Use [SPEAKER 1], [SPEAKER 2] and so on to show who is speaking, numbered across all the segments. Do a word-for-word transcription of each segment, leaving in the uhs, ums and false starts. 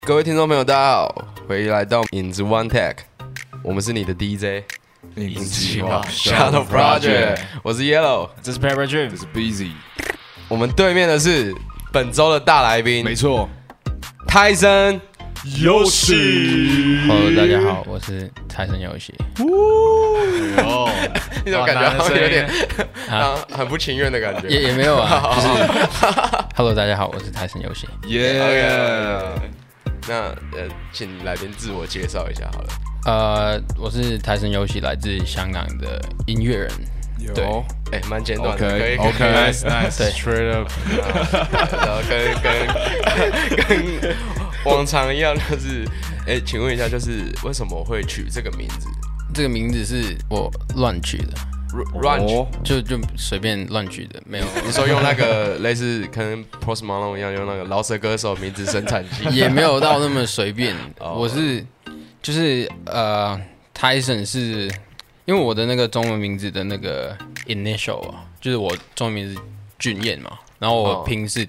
[SPEAKER 1] 各位听众朋友，大家好，欢迎来到影子 One Tech， 我们是你的 D J，
[SPEAKER 2] 影子计划
[SPEAKER 1] Shadow Project， 我是 Yellow，
[SPEAKER 2] 这是 Pepper Dream， 这是 Busy，
[SPEAKER 1] 我们对面的是本周的大来宾，
[SPEAKER 2] 没错，
[SPEAKER 1] 泰森
[SPEAKER 2] 游戏。
[SPEAKER 3] Hello， 大家好，我是泰森游戏。
[SPEAKER 2] 哦，
[SPEAKER 1] 你怎么感觉好像有点啊很不情愿的感觉？
[SPEAKER 3] 也也没有啊，就是 Hello， 大家好，我是泰森游戏。
[SPEAKER 1] 耶！那呃，请来宾自我介绍一下好了。
[SPEAKER 3] 呃，我是泰森游戏，来自香港的音乐人。对，
[SPEAKER 1] 哎，蛮简短的，
[SPEAKER 2] OK，
[SPEAKER 1] 可以
[SPEAKER 2] OK，Nice
[SPEAKER 3] Nice，Straight
[SPEAKER 2] up，
[SPEAKER 1] 然后跟跟跟往常一样，就是哎，请问一下，就是为什么会取这个名字？
[SPEAKER 3] 这个名字是我乱取的。
[SPEAKER 1] 乱取
[SPEAKER 3] 就就随便乱取的，没有。
[SPEAKER 1] 你说用那个类似跟 Post Malone 一样，用那个饶舌歌手名字生产机，
[SPEAKER 3] 也没有到那么随便。
[SPEAKER 1] 哦、
[SPEAKER 3] 我是就是呃 ，Tyson 是因为我的那个中文名字的那个 initial 啊，就是我中文名字俊彦嘛，然后我拼是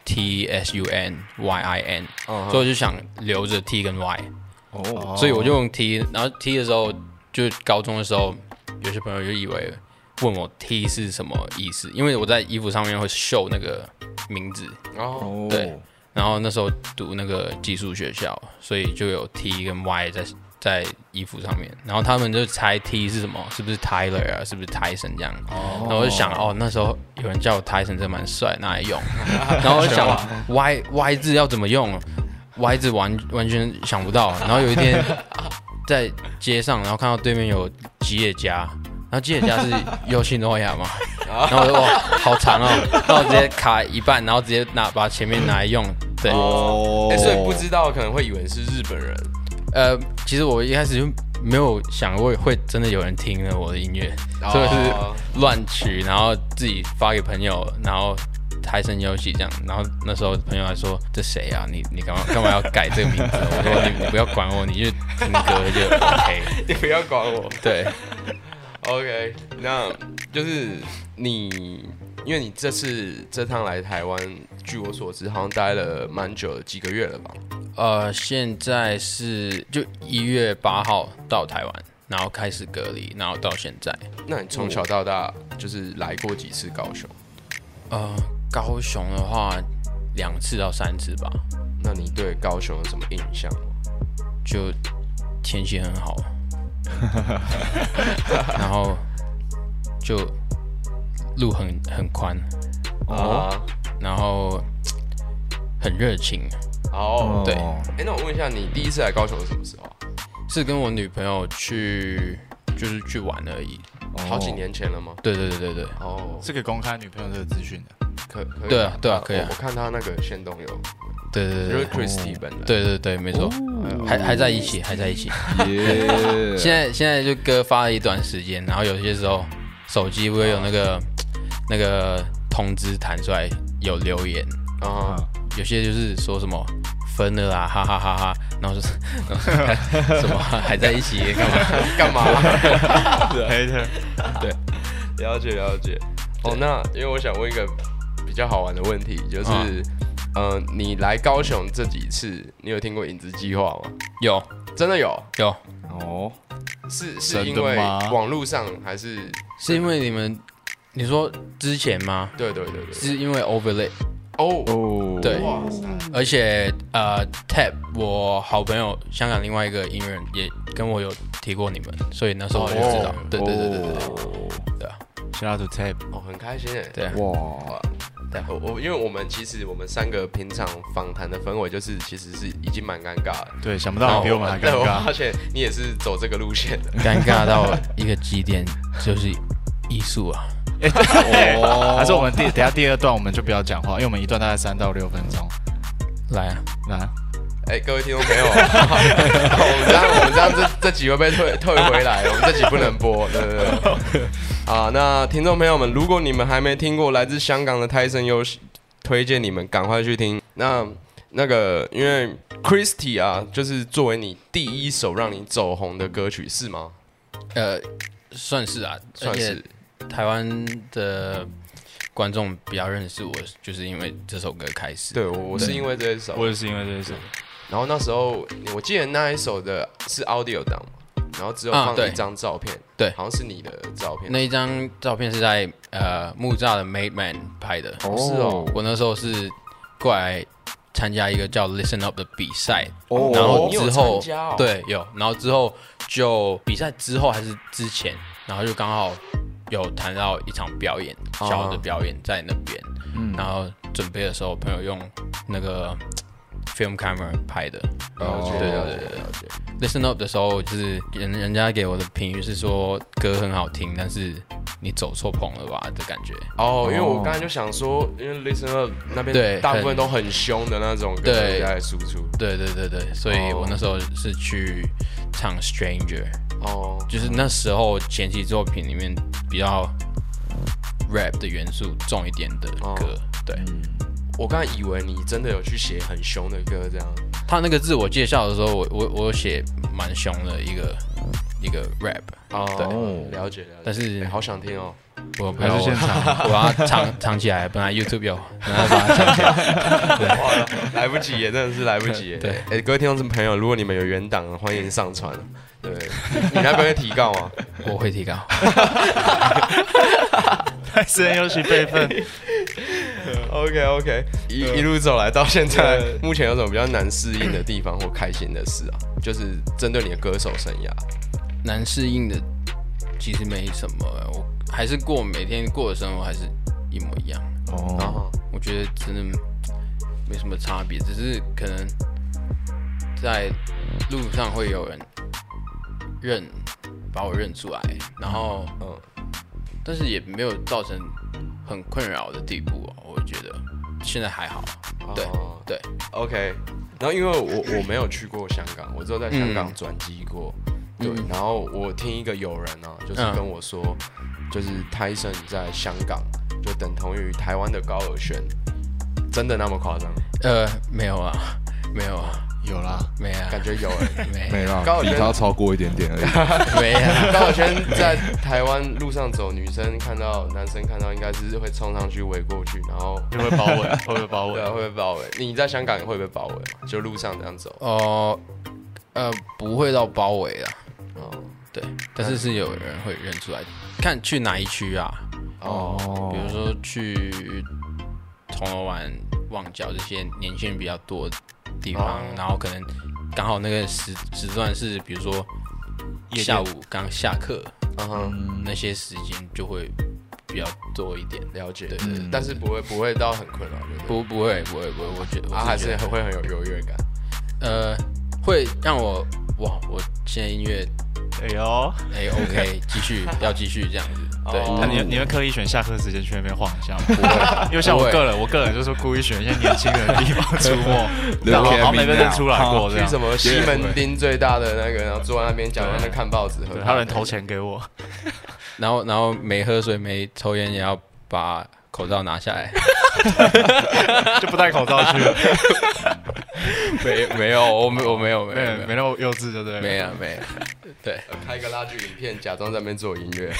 [SPEAKER 3] T S U N Y I N，、哦、所以我就想留着 T 跟 Y，、哦、所以我就用 T， 然后 T 的时候，就高中的时候。有些朋友就以为问我 T 是什么意思，因为我在衣服上面会秀那个名字哦，对，然后那时候读那个寄宿学校，所以就有 T 跟 Y 在在衣服上面，然后他们就猜 T 是什么，是不是 Tyler 啊，是不是 Tyson 这样，哦、然后我就想哦，那时候有人叫我 Tyson 真蛮帅，拿来用，然后我就想 Y Y 字要怎么用 ，Y 字完完全想不到，然后有一天。在街上，然后看到对面有吉野家，然后吉野家是优信诺亚嘛，然后我就哇，好长哦，然后我直接卡一半，然后直接拿把前面拿来用，对，
[SPEAKER 1] 哦，欸、所以不知道可能会以为是日本人。
[SPEAKER 3] 呃，其实我一开始就没有想过会真的有人听了我的音乐，哦、所以是乱取，然后自己发给朋友，然后。泰森游戏这样，然后那时候朋友还说：“这谁啊？你你干嘛干嘛要改这个名字？”我说你：“你不要管我，你就听歌就 OK。”
[SPEAKER 1] 你不要管我。
[SPEAKER 3] 对
[SPEAKER 1] ，OK， 那就是你，因为你这次这趟来台湾，据我所知，好像待了蛮久的，几个月了吧？
[SPEAKER 3] 呃，现在是就一月八号到台湾，然后开始隔离，然后到现在。
[SPEAKER 1] 那你从小到大就是来过几次高雄？
[SPEAKER 3] 呃。高雄的话，两次到三次吧。
[SPEAKER 1] 那你对高雄有什么印象吗？
[SPEAKER 3] 就天气很好，然后就路很很宽哦，然后很热情
[SPEAKER 1] 哦。
[SPEAKER 3] 对，
[SPEAKER 1] 哎、欸，那我问一下，你第一次来高雄是什么时候？
[SPEAKER 3] 是跟我女朋友去，就是去玩而已。
[SPEAKER 1] 好几年前了吗？
[SPEAKER 3] 对对对对对。
[SPEAKER 2] 哦，是可以公开女朋友这个资讯的。
[SPEAKER 1] 可可以
[SPEAKER 3] 对啊对啊可以啊！
[SPEAKER 1] 我看他那个限动有，
[SPEAKER 3] 对对对，
[SPEAKER 1] 就是 Christy 本人，
[SPEAKER 3] 对对对，没错，还还在一起，还在一起。
[SPEAKER 2] Yeah
[SPEAKER 3] 现在现在就歌发了一段时间，然后有些时候手机会有那个那个通知弹出来有留言啊，有些就是说什么分了啦，哈哈哈哈，然后就是什么还在一起干嘛
[SPEAKER 1] 干嘛？
[SPEAKER 2] 对
[SPEAKER 3] 对，
[SPEAKER 1] 了解了解。哦，那因为我想问一个比较好玩的问题，就是，嗯、呃，你来高雄这几次，你有听过影子计划吗？
[SPEAKER 3] 有，
[SPEAKER 1] 真的有，
[SPEAKER 3] 有。
[SPEAKER 2] 哦，
[SPEAKER 1] 是是因为网络上还是？
[SPEAKER 3] 是因为你们，你说之前吗？
[SPEAKER 1] 对对对对，
[SPEAKER 3] 是因为 overlay。
[SPEAKER 1] 哦
[SPEAKER 3] 哦，对，而且呃 ，Tab 我好朋友香港另外一个音乐人也跟我有提过你们，所以那时候我就知道。对对对对对对，对啊。
[SPEAKER 2] Shout out to Tab，
[SPEAKER 1] 哦，很开心哎。
[SPEAKER 3] 对，
[SPEAKER 1] 哇，对，我我因为我们其实我们三个平常访谈的氛围就是其实是已经蛮尴尬了。
[SPEAKER 2] 对，想不到你比我们还尴尬。
[SPEAKER 1] 我发现你也是走这个路线的，
[SPEAKER 3] 尴尬到一个极点，就是艺术啊。
[SPEAKER 2] 哎、欸哦，还是我们第等下第二段我们就不要讲话，因为我们一段大概三到六分钟。
[SPEAKER 3] 来啊，
[SPEAKER 2] 来。
[SPEAKER 1] 哎、欸，各位听众朋友，我们这样我们这样这这集会被退退回来，我们这集不能播，对对对。啊，那听众朋友们，如果你们还没听过来自香港的泰森游戏，推荐你们赶快去听。那那个，因为 Christy 啊，就是作为你第一首让你走红的歌曲，是吗？
[SPEAKER 3] 呃，算是啊，
[SPEAKER 1] 算是。
[SPEAKER 3] 台湾的观众比较认识我，就是因为这首歌开始。
[SPEAKER 1] 对，我我是因为这一首，
[SPEAKER 2] 我也是因为这一首。
[SPEAKER 1] 然后那时候我记得那一首的是 audio 档嘛，然后只有放一张照片，
[SPEAKER 3] 对，
[SPEAKER 1] 好像是你的照片。
[SPEAKER 3] 那一张照片是在呃木栅的 Made Man 拍的。
[SPEAKER 1] 哦，是哦，
[SPEAKER 3] 我那时候是过来参加一个叫 Listen Up 的比赛，
[SPEAKER 1] 哦，
[SPEAKER 3] 然后之后、
[SPEAKER 1] 哦、
[SPEAKER 3] 对有，然后之后就比赛之后还是之前，然后就刚好有谈到一场表演，
[SPEAKER 1] 哦、
[SPEAKER 3] 小的表演在那边，嗯，然后准备的时候，朋友用那个 film camera 拍的，
[SPEAKER 1] 哦，
[SPEAKER 3] 对对对对对。Listen Up 的时候，就是人人家给我的评语是说歌很好听，但是你走错棚了吧的感觉。
[SPEAKER 1] 哦，因为我刚才就想说，因为 Listen Up 那边大部分都很凶的那种歌在输出。
[SPEAKER 3] 对对对对，所以我那时候是去唱 Stranger。哦，就是那时候前期作品里面比较 rap 的元素重一点的歌。哦、对。
[SPEAKER 1] 我刚才以为你真的有去写很凶的歌，这样。
[SPEAKER 3] 他那个自我介绍的时候，我我我有写蛮凶的一个一个 rap。
[SPEAKER 1] 哦，对，了解了解。
[SPEAKER 3] 但是、
[SPEAKER 1] 欸、好想听哦。
[SPEAKER 3] 我还是现场，我把它藏藏起来。本来 YouTube 有，然后把它藏起来。对，
[SPEAKER 1] 哇，来不及耶，真的是来不及耶。
[SPEAKER 3] 对，
[SPEAKER 1] 哎、欸，各位听众朋友，如果你们有原档，欢迎上传。对，你那边会提告吗？
[SPEAKER 3] 我会提告。
[SPEAKER 2] 太私人游戏备份。
[SPEAKER 1] OK OK， 一一路走来到现在，目前有什么比较难适应的地方或开心的事啊？就是针对你的歌手生涯，
[SPEAKER 3] 难适应的其实没什么，我还是过每天过的生活还是一模一样。哦，我觉得真的没什么差别，只是可能在路上会有人认把我认出来，然后嗯，但是也没有造成很困扰的地步、哦、我觉得现在还好。对、哦、对
[SPEAKER 1] ，OK。然后因为我我没有去过香港，我只有在香港转机过。嗯、对，然后我听一个友人啊，就是跟我说，嗯、就是泰森在香港就等同于台湾的高尔宣，真的那么夸张？
[SPEAKER 3] 呃，没有啊，没有啊。
[SPEAKER 2] 有啦，
[SPEAKER 3] 没啊，
[SPEAKER 1] 感觉有哎，
[SPEAKER 3] 没
[SPEAKER 4] 没啦，比他超过一点点而
[SPEAKER 3] 已。没啊，
[SPEAKER 1] 高尔宣在台湾路上走，女生看到男生看到，应该是会冲上去围过去，然后
[SPEAKER 2] 就会包围，会不会包围？
[SPEAKER 1] 对啊，会不会包围？你在香港会不会包围？就路上这样走？
[SPEAKER 3] 哦、呃，呃，不会到包围啦。哦，对，但是是有人会认出来，看去哪一区啊？哦，比如说去铜锣湾、旺角这些年轻人比较多的地方，哦、然后可能刚好那个时时段是，比如说下午刚下课，嗯，那些时间就会比较多一点。
[SPEAKER 1] 了解，
[SPEAKER 3] 对对、嗯，
[SPEAKER 1] 但是不会不会到很困扰，
[SPEAKER 3] 不不会不会不会，我觉得
[SPEAKER 1] 啊还是会很有优越感，
[SPEAKER 3] 呃，会让我哇，我现在音乐，
[SPEAKER 2] 哎呦，
[SPEAKER 3] 哎 OK， 继续要继续这样子。对，
[SPEAKER 2] 那你你会刻意选下课时间去那边晃一下吗？不会，因为像我个人，我个人就是故意选一些年轻人的地方出没，然后好没被认出来过这样。
[SPEAKER 1] 去什么西门町最大的那个，然后坐在那边假装在看报纸，
[SPEAKER 2] 还有人投钱给我。
[SPEAKER 3] 然后然后没喝水没抽烟也要把口罩拿下来，
[SPEAKER 2] 就不戴口罩去了。
[SPEAKER 3] 没没有，我没我没有没
[SPEAKER 2] 有没那么幼稚，对不对？
[SPEAKER 3] 没有没有，对，
[SPEAKER 1] 开个拉锯影片，假装在那边做音乐。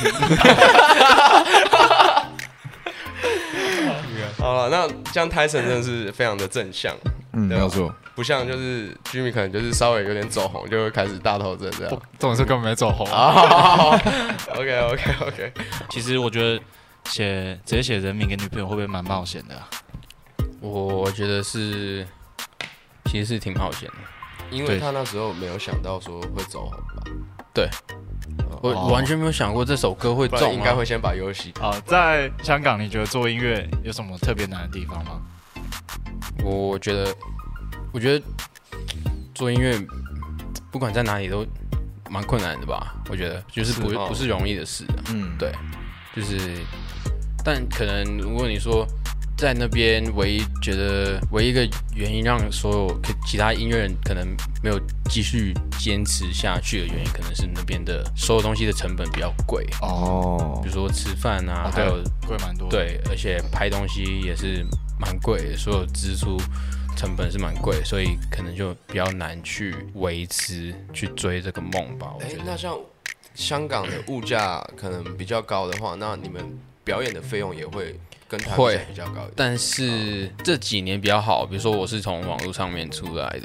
[SPEAKER 1] 好了，那这样泰森真的是非常的正向，
[SPEAKER 4] 嗯，没有错，
[SPEAKER 1] 不像就是 Jimmy 可能就是稍微有点走红，就会开始大头症这样。
[SPEAKER 2] 这种事根本没走红。
[SPEAKER 1] OK OK OK。
[SPEAKER 2] 其实我觉得写直接写人名给女朋友会不会蛮冒险的、啊？
[SPEAKER 3] 我觉得是。其实是挺冒险的，
[SPEAKER 1] 因为他那时候没有想到说会走红吧？
[SPEAKER 3] 对，我
[SPEAKER 2] 哦、
[SPEAKER 3] 完全没有想过这首歌会中、啊，
[SPEAKER 1] 应该会先把游戏。
[SPEAKER 2] 啊，在香港，你觉得做音乐有什么特别难的地方吗？
[SPEAKER 3] 我觉得，我觉得做音乐不管在哪里都蛮困难的吧？我觉得就是不是、哦、不是容易的事、啊。嗯，对，就是，但可能如果你说。在那边唯一觉得唯一一个原因让所有其他音乐人可能没有继续坚持下去的原因，可能是那边的所有东西的成本比较贵哦，比如说吃饭啊，还有
[SPEAKER 2] 贵蛮多，
[SPEAKER 3] 对，而且拍东西也是蛮贵的，所有支出成本是蛮贵，所以可能就比较难去维持去追这个梦吧。我觉得、
[SPEAKER 1] 欸、那像香港的物价可能比较高的话，那你们表演的费用也会。跟台湾比较高一点，
[SPEAKER 3] 但是这几年比较好，比如说我是从网络上面出来的嘛，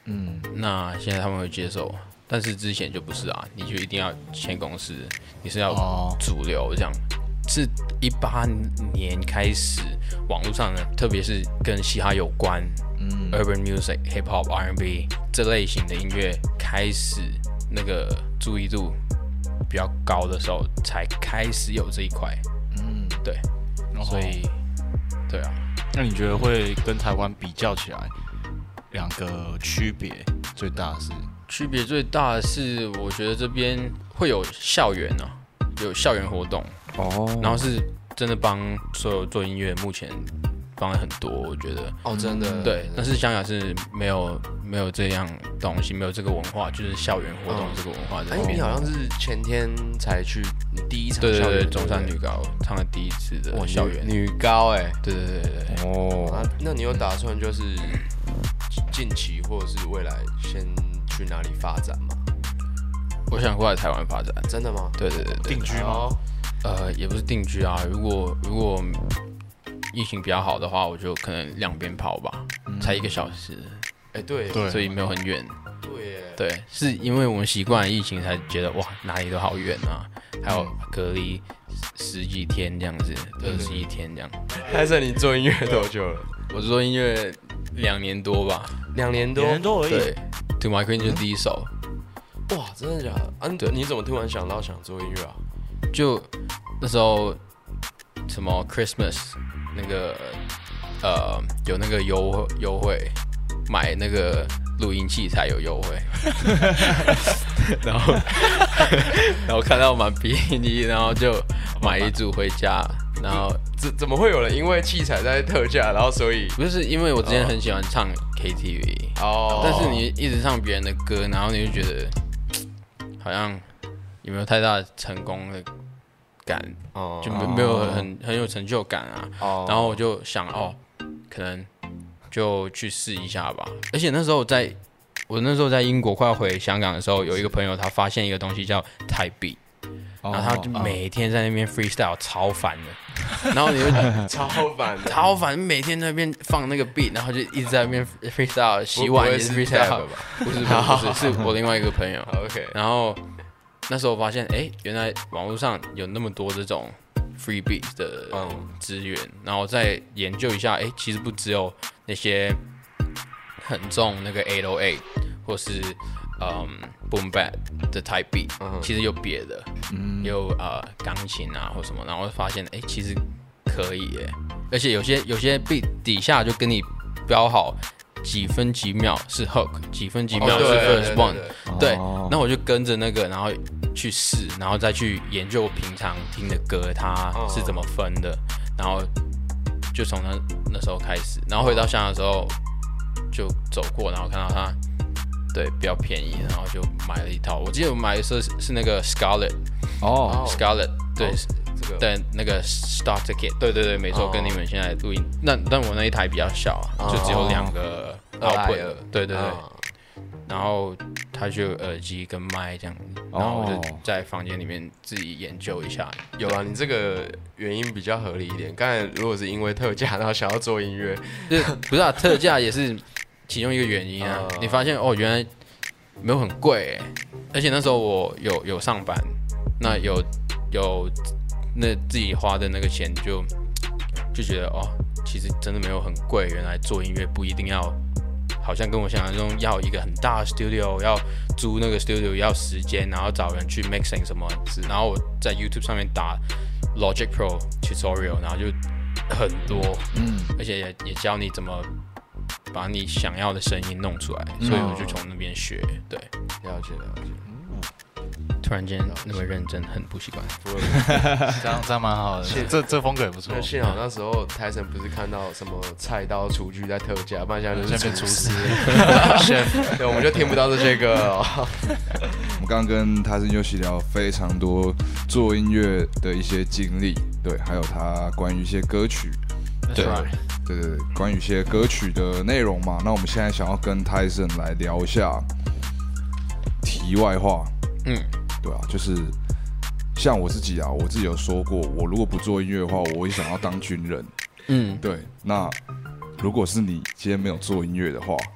[SPEAKER 3] 嗯，那现在他们会接受，但是之前就不是啊，你就一定要签公司，你是要主流这样。是一八年开始，网络上呢，特别是跟嘻哈有关，嗯 ，urban music、hip hop、R and B 这类型的音乐开始那个注意度比较高的时候，才开始有这一块。嗯，对，所以，对啊。
[SPEAKER 2] 那你觉得会跟台湾比较起来，两个区别最大是？
[SPEAKER 3] 区别最大的是，我觉得这边会有校园啊，有校园活动。哦，然后是真的帮所有做音乐，目前帮了很多，我觉得
[SPEAKER 1] 哦，真的
[SPEAKER 3] 对。但是香港是没有没有这样东西，没有这个文化，就是校园活动这个文化。
[SPEAKER 1] 哎、嗯，你好像是前天才去你第一场校园，
[SPEAKER 3] 对对对，中山女高唱了第一次的校园
[SPEAKER 1] 女高，哎，
[SPEAKER 3] 对对对对对。
[SPEAKER 1] 哦、啊，那你有打算就是近期或者是未来先去哪里发展吗？
[SPEAKER 3] 我想过来台湾发展，
[SPEAKER 1] 真的吗？
[SPEAKER 3] 对对对对，
[SPEAKER 2] 定居吗？
[SPEAKER 3] 呃，也不是定居啊。如果如果疫情比较好的话，我就可能两边跑吧，嗯、才一个小时。
[SPEAKER 1] 哎、欸，对，
[SPEAKER 3] 所以没有很远。
[SPEAKER 1] 对耶，
[SPEAKER 3] 对，是因为我们习惯了疫情，才觉得哇，哪里都好远啊，还有隔离十几天这样子，二十一天这样。
[SPEAKER 1] 泰森，你做音乐多久了？
[SPEAKER 3] 我做音乐两年多吧，
[SPEAKER 1] 两年多，
[SPEAKER 2] 两年多而已。
[SPEAKER 3] 对 ，To My Queen 就是第一首。
[SPEAKER 1] 嗯、哇，真的假的？啊，对，你怎么突然想到想做音乐啊？
[SPEAKER 3] 就那时候什么 Christmas 那个呃有那个优优惠，买那个录音器材有优惠，然后然后看到蛮便宜，然后就买一组回家，然后
[SPEAKER 1] 怎怎么会有人因为器材在特价，然后所以
[SPEAKER 3] 不是因为我之前很喜欢唱 K T V 哦，但是你一直唱别人的歌，然后你就觉得好像有没有太大的成功的感，哦、就没没有很很有成就感啊。哦、然后我就想，哦，可能就去试一下吧。而且那时候在，我那时候在英国快要回香港的时候，有一个朋友他发现一个东西叫泰币，然后他就每天在那边 freestyle 超烦的，然后你就
[SPEAKER 1] 超烦的，
[SPEAKER 3] 超烦，每天在那边放那个 beat， 然后就一直在那边 freestyle， 洗碗也是 freestyle， 不是不是不是，是我另外一个朋友。
[SPEAKER 1] OK，
[SPEAKER 3] 然后。那时候我发现，哎，原来网络上有那么多这种 free beat 的资源，嗯、然后再研究一下，哎，其实不只有那些很重那个八零八或是嗯 boom bap 的 type beat，、嗯、其实有别的，嗯、有呃钢琴啊或什么，然后发现，哎，其实可以耶，而且有些有些 beat 底下就跟你标好。几分几秒是 hook， 几分几秒是 first one， 对，那我就跟着那个，然后去试，然后再去研究平常听的歌它是怎么分的，然后就从那那时候开始，然后回到香港的时候就走过，然后看到它对比较便宜，然后就买了一套。我记得我买的是是那个 Scarlett， 哦 ，Scarlett， 对。哦这个、对，那个 starter kit， 对对对，没错， oh. 跟你们现在录音，那但我那一台比较小， oh. 就只有两个 output， 对对对， oh. 然后它就有耳机跟麦这样，然后我就在房间里面自己研究一下。
[SPEAKER 1] 有啊，你这个原因比较合理一点。刚才如果是因为特价，然后想要做音乐，
[SPEAKER 3] 不是啊，特价也是其中一个原因啊。Oh. 你发现哦，原来没有很贵，而且那时候我有有上班，那有有。那自己花的那个钱就就觉得哦，其实真的没有很贵。原来做音乐不一定要，好像跟我想象中要一个很大的 studio， 要租那个 studio 要时间，然后找人去 mixing 什么。然后我在 YouTube 上面打 Logic Pro tutorial， 然后就很多，嗯，而且也也教你怎么把你想要的声音弄出来，所以我就从那边学。对，
[SPEAKER 1] 了解了解。
[SPEAKER 3] 突然间那么认真，很不习惯。
[SPEAKER 2] 这样这样蛮好的，这这风格也不错。
[SPEAKER 1] 幸好那时候泰森不是看到什么菜刀、厨具在特价，不然现在就是厨师。对，我们就听不到这些歌了。
[SPEAKER 4] 我们刚刚跟泰森尤其聊非常多做音乐的一些经历，对，还有他关于一些歌曲，对对对对，关于一些歌曲的内容嘛。那我们现在想要跟泰森来聊一下题外话。嗯，对啊，就是像我自己啊，我自己有说过，我如果不做音乐的话，我也想要当军人。嗯，对。那如果是你今天没有做音乐的话，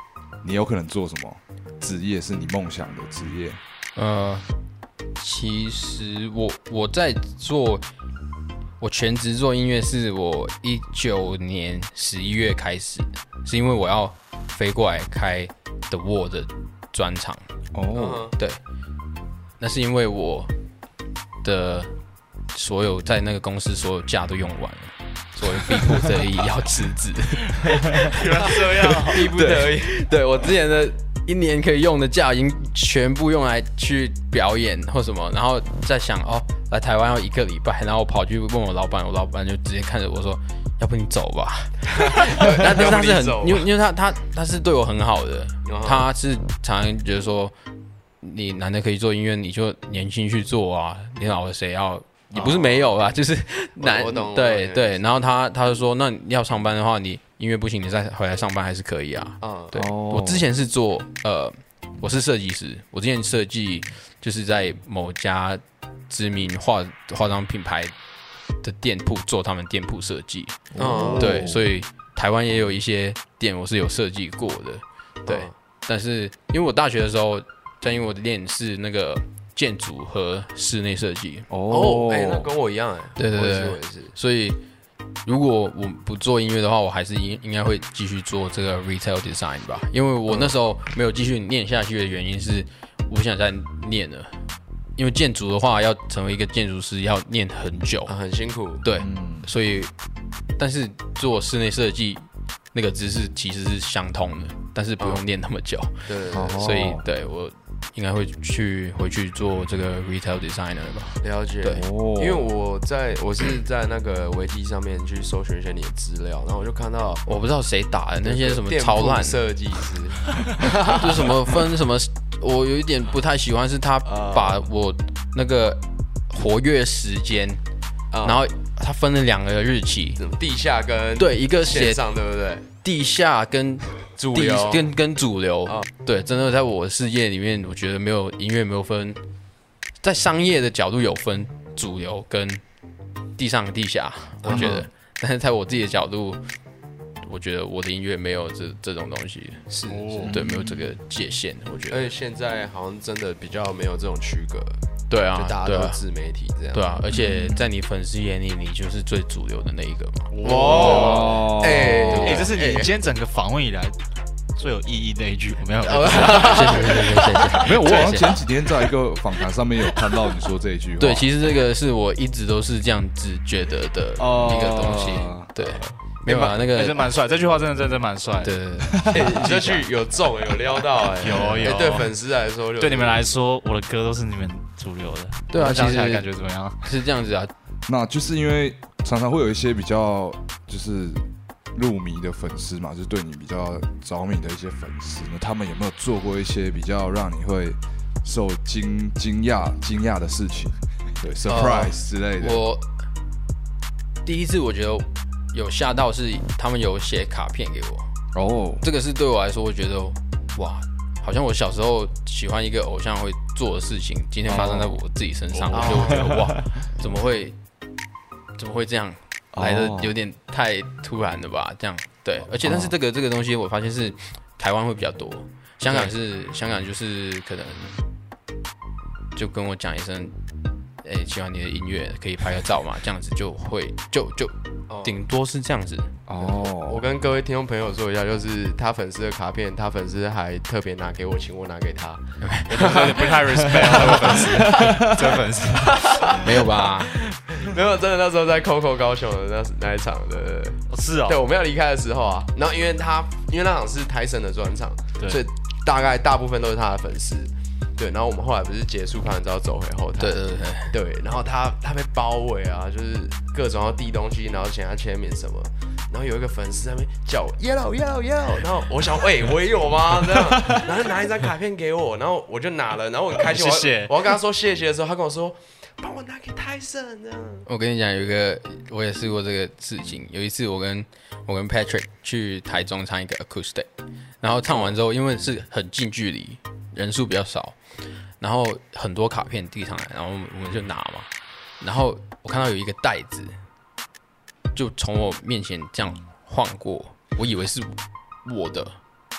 [SPEAKER 4] 你有可能做什么职业是你梦想的职业？
[SPEAKER 3] 呃，其实我我在做，我全职做音乐是我一九年十一月开始，是因为我要飞过来开 The Wall 的专场。
[SPEAKER 4] 哦，
[SPEAKER 3] 对，那是因为我的所有在那个公司所有假都用完了，所以逼不得已要辞职。
[SPEAKER 2] 原来这样，
[SPEAKER 3] 逼不得已。对，我之前的一年可以用的假已经全部用来去表演或什么，然后再想哦，来台湾要一个礼拜，然后我跑去问我老板，我老板就直接看着我说：“要不你走吧。”但但是他是很，因为因为他他他是对我很好的，他是常常觉得说，你难得可以做音乐，你就年轻去做啊，你老了谁要？也不是没有啦，就是难，对对。然后他他就说，那你要上班的话，你音乐不行，你再回来上班还是可以啊。嗯，对。我之前是做呃，我是设计师，我之前设计就是在某家知名化化妆品牌的店铺做他们店铺设计。哦，对，所以台湾也有一些店我是有设计过的，对。但是因为我大学的时候，在因为我的练是那个。建筑和室内设计
[SPEAKER 1] 哦，哎、欸，那跟我一样哎，
[SPEAKER 3] 对对对，我也是。所以如果我不做音乐的话，我还是应应该会继续做这个 retail design 吧。因为我那时候没有继续念下去的原因是，我不想再念了。因为建筑的话，要成为一个建筑师要念很久，
[SPEAKER 1] 啊、很辛苦。
[SPEAKER 3] 对，嗯、所以但是做室内设计那个知识其实是相通的，但是不用念那么久。
[SPEAKER 1] 对对对，
[SPEAKER 3] 所以对我。应该会去回去做这个 retail designer 吧。
[SPEAKER 1] 了解，对，因为我在我是在那个维基上面去搜寻一些你的资料，然后我就看到，
[SPEAKER 3] 我不知道谁打的那些什么超烂
[SPEAKER 1] 设计师，
[SPEAKER 3] 就是什么分什么，我有一点不太喜欢，是他把我那个活跃时间，嗯、然后他分了两个日期，
[SPEAKER 1] 地下跟
[SPEAKER 3] 对一个写
[SPEAKER 1] 上，对不对？
[SPEAKER 3] 地下跟
[SPEAKER 1] 主流
[SPEAKER 3] 跟跟主流，哦、对，真的在我的世界里面，我觉得没有音乐没有分，在商业的角度有分主流跟地上地下，我觉得，嗯、但是在我自己的角度，我觉得我的音乐没有这这种东西，是，哦、对，没有这个界限，我觉得。
[SPEAKER 1] 而且现在好像真的比较没有这种区隔。
[SPEAKER 3] 对啊，
[SPEAKER 1] 就大家都自媒体这样。
[SPEAKER 3] 对啊，而且在你粉丝眼里，你就是最主流的那一个嘛。
[SPEAKER 2] 哇，哎哎，这是你今天整个访问以来最有意义的一句，我没有。
[SPEAKER 3] 谢谢谢谢谢谢。
[SPEAKER 4] 没有，我好像前几天在一个访谈上面有看到你说这一句话。
[SPEAKER 3] 对，其实这个是我一直都是这样子觉得的一个东西。对。没有啊，那个
[SPEAKER 2] 真蛮帅，这句话真的真的蛮帅。
[SPEAKER 3] 对对对，
[SPEAKER 1] 欸、你这句有中有撩到哎、欸，
[SPEAKER 2] 有有、欸。
[SPEAKER 1] 对粉丝来说，
[SPEAKER 2] 对你们来说，我的歌都是你们主流的。
[SPEAKER 3] 对啊，
[SPEAKER 2] 讲起来感觉怎么样？
[SPEAKER 3] 是这样子啊，
[SPEAKER 4] 那就是因为常常会有一些比较就是入迷的粉丝嘛，就是对你比较着迷的一些粉丝，那他们有没有做过一些比较让你会受惊惊讶惊讶的事情？对 ，surprise 之类的。
[SPEAKER 3] 呃、我第一次我觉得。有吓到是他们有写卡片给我哦， oh. 这个是对我来说，我觉得哇，好像我小时候喜欢一个偶像会做的事情，今天发生在我自己身上， oh. 我就觉得哇，怎么会怎么会这样来的有点太突然了吧？这样对，而且但是这个、oh. 这个东西我发现是台湾会比较多，香港是、okay. 香港就是可能就跟我讲一声。哎、欸，喜欢你的音乐，可以拍个照嘛？这样子就会就就顶多是这样子
[SPEAKER 1] 哦。我跟各位听众朋友说一下，就是他粉丝的卡片，他粉丝还特别拿给我，请我拿给他，
[SPEAKER 2] 有点不太 respect 这个粉丝，这个粉丝
[SPEAKER 3] 没有吧？
[SPEAKER 1] 没有，真的那时候在 Coco 高雄的那那一场的，
[SPEAKER 2] 哦是哦，
[SPEAKER 1] 对，我们要离开的时候啊，然后因为他因为那场是台神的专场，所以大概大部分都是他的粉丝。对，然后我们后来不是结束拍完之后走回后台，
[SPEAKER 3] 对对对
[SPEAKER 1] 对，然后他他被包围啊，就是各种要递东西，然后请他签名什么，然后有一个粉丝在那边叫 yellow yellow yellow， 然后我想，喂、欸，我也有吗？这样，然后拿一张卡片给我，然后我就拿了，然后我很开心，
[SPEAKER 2] 谢谢，
[SPEAKER 1] 我要跟他说谢谢的时候，他跟我说，帮我拿给泰森这样。
[SPEAKER 3] 我跟你讲，有一个我也试过这个事情，有一次我跟我跟 Patrick 去台中唱一个 acoustic， 然后唱完之后，因为是很近距离，人数比较少。然后很多卡片递上来，然后我们就拿嘛。然后我看到有一个袋子，就从我面前这样晃过，我以为是我的，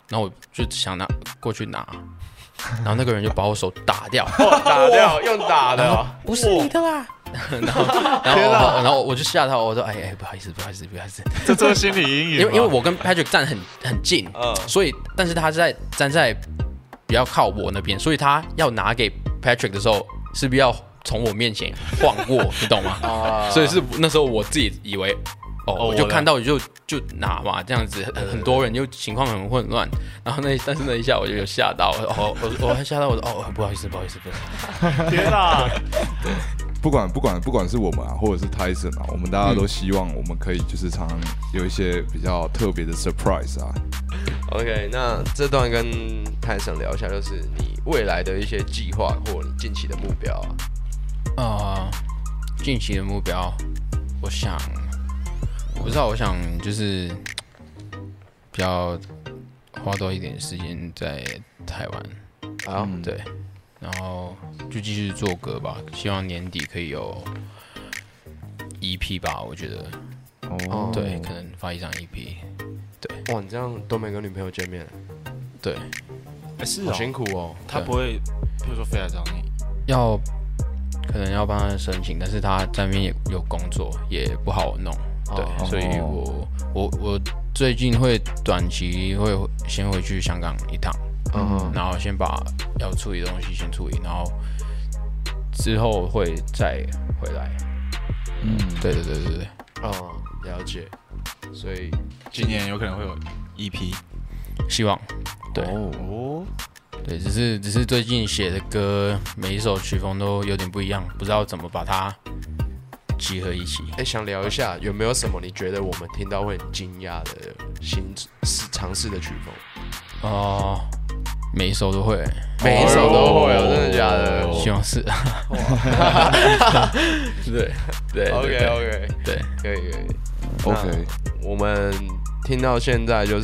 [SPEAKER 3] 然后我就想拿过去拿，然后那个人就把我手打掉，
[SPEAKER 1] 哦、打掉用打的、哦，
[SPEAKER 3] 不是你的吧？然后，然后，然后我就吓到，我说：“哎哎，不好意思，不好意思，不好意思。”
[SPEAKER 2] 这做心理阴影。
[SPEAKER 3] 因为因为我跟 Patrick 站很很近，嗯、所以但是他在站在比较靠我那边，所以他要拿给 Patrick 的时候，是不是要从我面前晃过？你懂吗？啊、所以是那时候我自己以为，哦，哦我就看到就就拿嘛，这样子很很多人就情况很混乱，然后那但是那一下我就有吓到，哦，我我还吓到我说哦，不好意思，不好意思，不好意思，
[SPEAKER 2] 天哪！
[SPEAKER 3] 对。
[SPEAKER 4] 不管不管不管是我们啊，或者是 Tyson 啊，我们大家都希望我们可以就是常常有一些比较特别的 surprise 啊。
[SPEAKER 1] OK， 那这段跟 Tyson 聊一下，就是你未来的一些计划或你近期的目标啊。
[SPEAKER 3] 啊、呃，近期的目标，我想，我不知道，我想就是比较花多一点时间在台湾
[SPEAKER 1] 啊，
[SPEAKER 3] 嗯、对。然后就继续做歌吧，希望年底可以有 E P 吧，我觉得。哦。对，可能发一张 E P。对。
[SPEAKER 1] 哇，你这样都没跟女朋友见面？
[SPEAKER 3] 对。
[SPEAKER 2] 哎、欸，是哦。
[SPEAKER 1] 好辛苦哦。
[SPEAKER 2] 他不会，比如说飞来找你。
[SPEAKER 3] 要，可能要帮他申请，但是他在那边也有工作，也不好弄。对，哦、所以我我我最近会短期会先回去香港一趟。嗯，然后先把要处理的东西先处理，然后之后会再回来。嗯，对对对对对。
[SPEAKER 1] 哦，了解。所以
[SPEAKER 2] 今年有可能会有 E P，
[SPEAKER 3] 希望。对。哦。对，只是只是最近写的歌，每一首曲风都有点不一样，不知道怎么把它集合一起。
[SPEAKER 1] 哎，想聊一下有没有什么你觉得我们听到会很惊讶的新尝试的曲风？
[SPEAKER 3] 哦。每一首都会，
[SPEAKER 1] 每一首都会哦，真的假的？
[SPEAKER 3] 希望是。对对
[SPEAKER 1] ，OK OK，
[SPEAKER 3] 对，
[SPEAKER 1] 可以可以
[SPEAKER 4] ，OK。
[SPEAKER 1] 我们听到现在就是，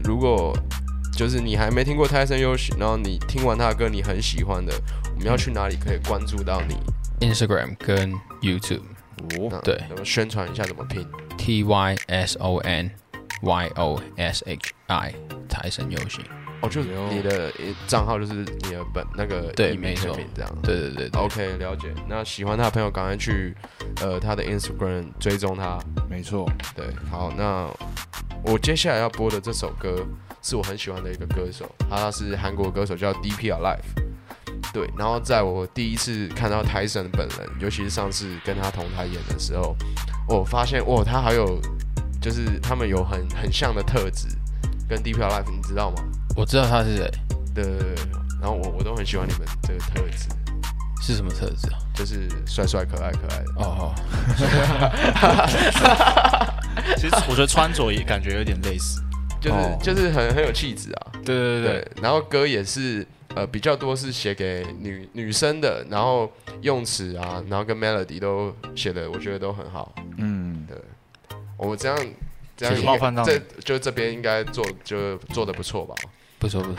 [SPEAKER 1] 如果就是你还没听过 Tyson Yoshi， 然后你听完他的歌你很喜欢的，我们要去哪里可以关注到你
[SPEAKER 3] ？Instagram 跟 YouTube。
[SPEAKER 1] 哦，对，宣传一下怎么拼
[SPEAKER 3] ？T Y S O N Y O S H I Tyson Yoshi。
[SPEAKER 1] 哦，就是你的账号就是你的本那个
[SPEAKER 3] 对，没错，
[SPEAKER 1] 这样。
[SPEAKER 3] 对对 对, 对
[SPEAKER 1] ，OK， 了解。那喜欢他的朋友赶快去呃他的 Instagram 追踪他。
[SPEAKER 4] 没错，
[SPEAKER 1] 对，好，那我接下来要播的这首歌是我很喜欢的一个歌手，他是韩国歌手叫 D P Alive。对，然后在我第一次看到 Tyson 本人，尤其是上次跟他同台演的时候，我发现哇，他还有就是他们有很很像的特质，跟 D P Alive 你知道吗？
[SPEAKER 3] 我知道他是谁，
[SPEAKER 1] 对对对，然后我我都很喜欢你们这个特质，
[SPEAKER 3] 是什么特质啊？
[SPEAKER 1] 就是帅帅可爱可爱的。
[SPEAKER 3] 哦
[SPEAKER 2] 哦。其实我觉得穿着也感觉有点类似，
[SPEAKER 1] 就是、哦、就是很很有气质啊。
[SPEAKER 3] 对对 对,
[SPEAKER 1] 对，然后歌也是呃比较多是写给女女生的，然后用词啊，然后跟 melody 都写的，我觉得都很好。嗯，对，我这样。这样
[SPEAKER 2] 冒犯到
[SPEAKER 1] 这就这边应该做就做得不错吧？
[SPEAKER 3] 不错不错。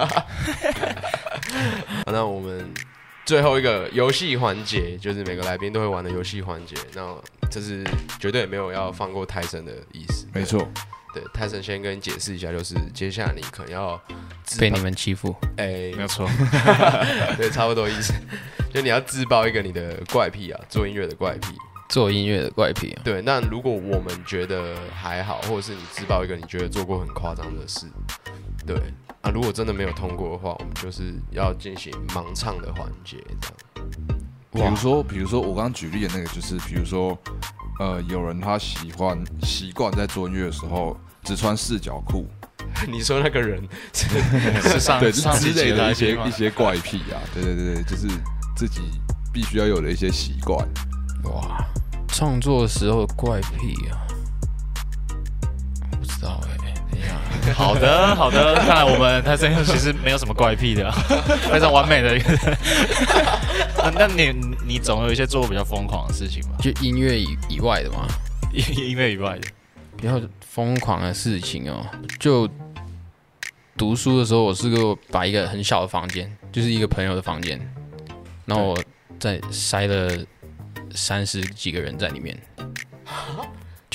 [SPEAKER 1] 那我们最后一个游戏环节，就是每个来宾都会玩的游戏环节。那这是绝对没有要放过泰森的意思。
[SPEAKER 4] 没错，
[SPEAKER 1] 对，泰森先跟你解释一下，就是接下来你可能要
[SPEAKER 3] 被你们欺负。
[SPEAKER 1] 哎、
[SPEAKER 2] 欸，没有错。
[SPEAKER 1] 对，差不多意思。就你要自爆一个你的怪癖啊，做音乐的怪癖。
[SPEAKER 3] 做音乐的怪癖、啊，
[SPEAKER 1] 对。那如果我们觉得还好，或者是你自爆一个你觉得做过很夸张的事，对啊，如果真的没有通过的话，我们就是要进行盲唱的环节，这样。
[SPEAKER 4] 比如说，比如说我刚刚举例的那个，就是比如说，呃，有人他喜欢习惯在做音乐的时候只穿四角裤。
[SPEAKER 1] 你说那个人是
[SPEAKER 2] 是上
[SPEAKER 4] 对
[SPEAKER 2] 上
[SPEAKER 4] 之类的一些一些怪癖啊，对对对对，就是自己必须要有的一些习惯。
[SPEAKER 3] 哇，创作的时候的怪癖啊，不知道哎、欸，等一下。
[SPEAKER 2] 好的，好的，看来我们Tyson Yoshi其实没有什么怪癖的、啊，非常完美的一个人。那那你你总有一些做过比较疯狂的事情吧？
[SPEAKER 3] 就音乐以以外的嘛，
[SPEAKER 2] 音乐以外的
[SPEAKER 3] 比较疯狂的事情哦。就读书的时候，我是个把一个很小的房间，就是一个朋友的房间，然后我再塞了三十几个人在里面，就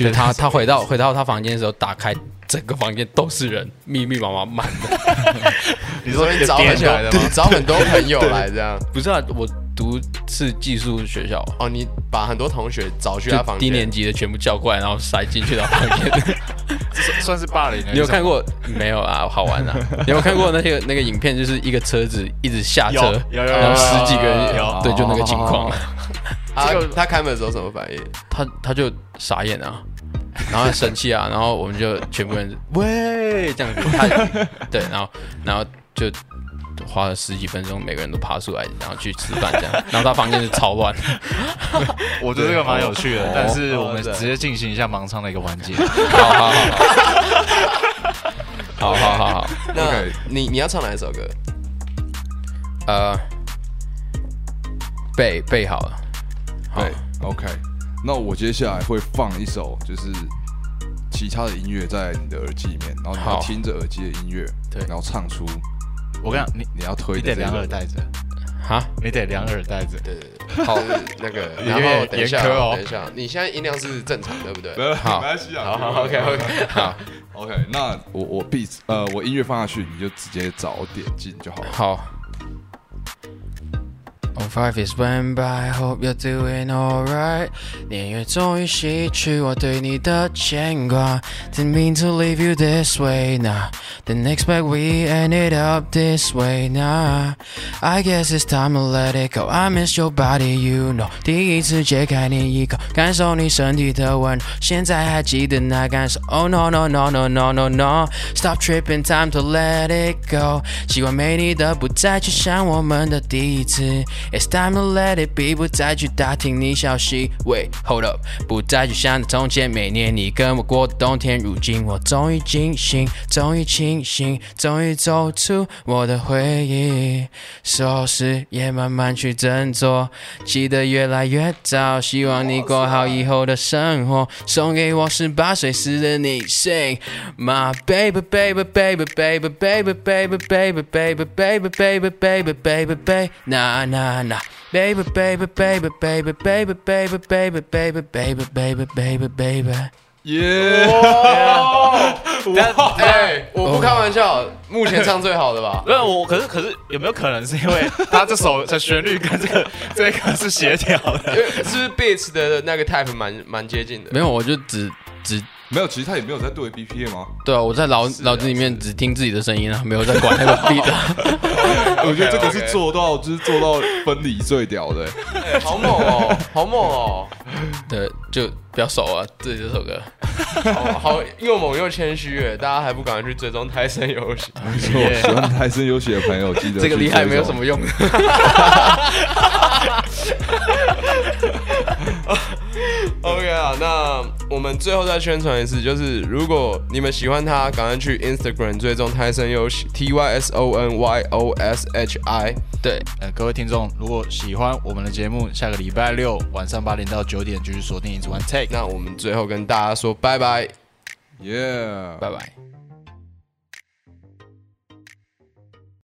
[SPEAKER 3] 就是他他回到回到他房间的时候，打开整个房间都是人，密密麻麻满的。
[SPEAKER 1] 你说你找很多，找很多朋友来这样？
[SPEAKER 3] 不是啊，我读是寄宿学校。
[SPEAKER 1] 哦，你把很多同学找去他房间，
[SPEAKER 3] 低年级的全部叫过来，然后塞进去他房间。
[SPEAKER 2] 算是霸凌。
[SPEAKER 3] 你有看过没有啊？好玩啊！你有看过那个那个影片，就是一个车子一直下车，
[SPEAKER 2] 有有
[SPEAKER 3] 然后十几个人，
[SPEAKER 2] 有
[SPEAKER 3] 对，就那个情况。
[SPEAKER 1] 他他开门的时候什么反应？
[SPEAKER 3] 他他就傻眼啊，然后他生气啊，然后我们就全部人喂这样子，他对，然后然后就花了十几分钟，每个人都爬出来，然后去吃饭这样，然后他房间是超乱。
[SPEAKER 2] 我觉得这个蛮有趣的，但是我们直接进行一下盲唱的一个环节。
[SPEAKER 3] 好好好，好好好好。
[SPEAKER 1] 那你你要唱哪一首歌？
[SPEAKER 3] 呃，背背好了。
[SPEAKER 4] 对 ，OK。那我接下来会放一首，就是其他的音乐在你的耳机里面，然后你要听着耳机的音乐，对，然后唱出。
[SPEAKER 2] 我跟你讲，你
[SPEAKER 4] 你要推，
[SPEAKER 2] 你得两耳戴着，
[SPEAKER 3] 哈，
[SPEAKER 2] 你得两耳戴着。
[SPEAKER 1] 对对对，好，那个，然后等一下，等一下，你现在音量是正常，对不对？
[SPEAKER 4] 好，没关系啊。
[SPEAKER 1] 好好 ，OK OK，
[SPEAKER 3] 好
[SPEAKER 4] ，OK。那我我 beat 呃，我音乐放下去，你就直接找点进就好了。
[SPEAKER 3] 好。Oh, five years went by, hope you're doing alright. 年月终于洗去我对你的牵挂 Didn't mean to leave you this way, nah. Didn't expect we ended up this way, nah. I guess it's time to let it go. I miss your body, you know. 第一次解开你衣口，感受你身体的温柔，现在还记得那感受。Oh no no no no no no no. Stop tripping, time to let it go. 习惯没你的不再去想我们的第一次。It's time to let it be， 不再去打听你消息。Wait, hold up， 不再去想着从前每年你跟我过的冬天。如今我终于惊醒，终于清醒，终于走出我的回忆。收拾也慢慢去振作，记得越来越早。希望你过好以后的生活。送给我十八岁时的你 ，Sing my baby baby baby baby baby baby baby baby baby baby baby baby baby na na na baby baby baby baby baby baby baby baby baby baby baby baby
[SPEAKER 4] 耶！
[SPEAKER 1] 但哎，我不开玩笑，目前唱最好的吧？
[SPEAKER 2] 没有我，可是可是有没有可能是因为他这首的旋律跟这个这个是协调的？
[SPEAKER 1] 是不是 beats 的那个 type 蛮蛮接近的？
[SPEAKER 3] 没有，我就只只
[SPEAKER 4] 没有，其实他也没有在对 B P M 吗？
[SPEAKER 3] 对啊，我在脑脑子里面只听自己的声音啊，没有在管那个 beat
[SPEAKER 4] 我觉得这个是做到，就是做到分离最屌的。
[SPEAKER 1] 欸、好猛哦，好猛哦！
[SPEAKER 3] 对，就比较熟啊，这这首歌。
[SPEAKER 1] 好, 好又猛又谦虚耶，大家还不赶快去追踪泰森游戏？
[SPEAKER 4] 没错，喜欢泰森游戏的朋友，记得
[SPEAKER 3] 这个厉害没有什么用。
[SPEAKER 1] OK 啊，那我们最后再宣传一次，就是如果你们喜欢他，赶快去 Instagram 追踪泰森游戏 T Y S O N Y O S H I。
[SPEAKER 3] 对，
[SPEAKER 2] 呃，各位听众，如果喜欢我们的节目，下个礼拜六晚上八点到九点继续锁定一直玩 Take。
[SPEAKER 1] 那我们最后跟大家说拜拜，
[SPEAKER 4] 耶，
[SPEAKER 3] 拜拜。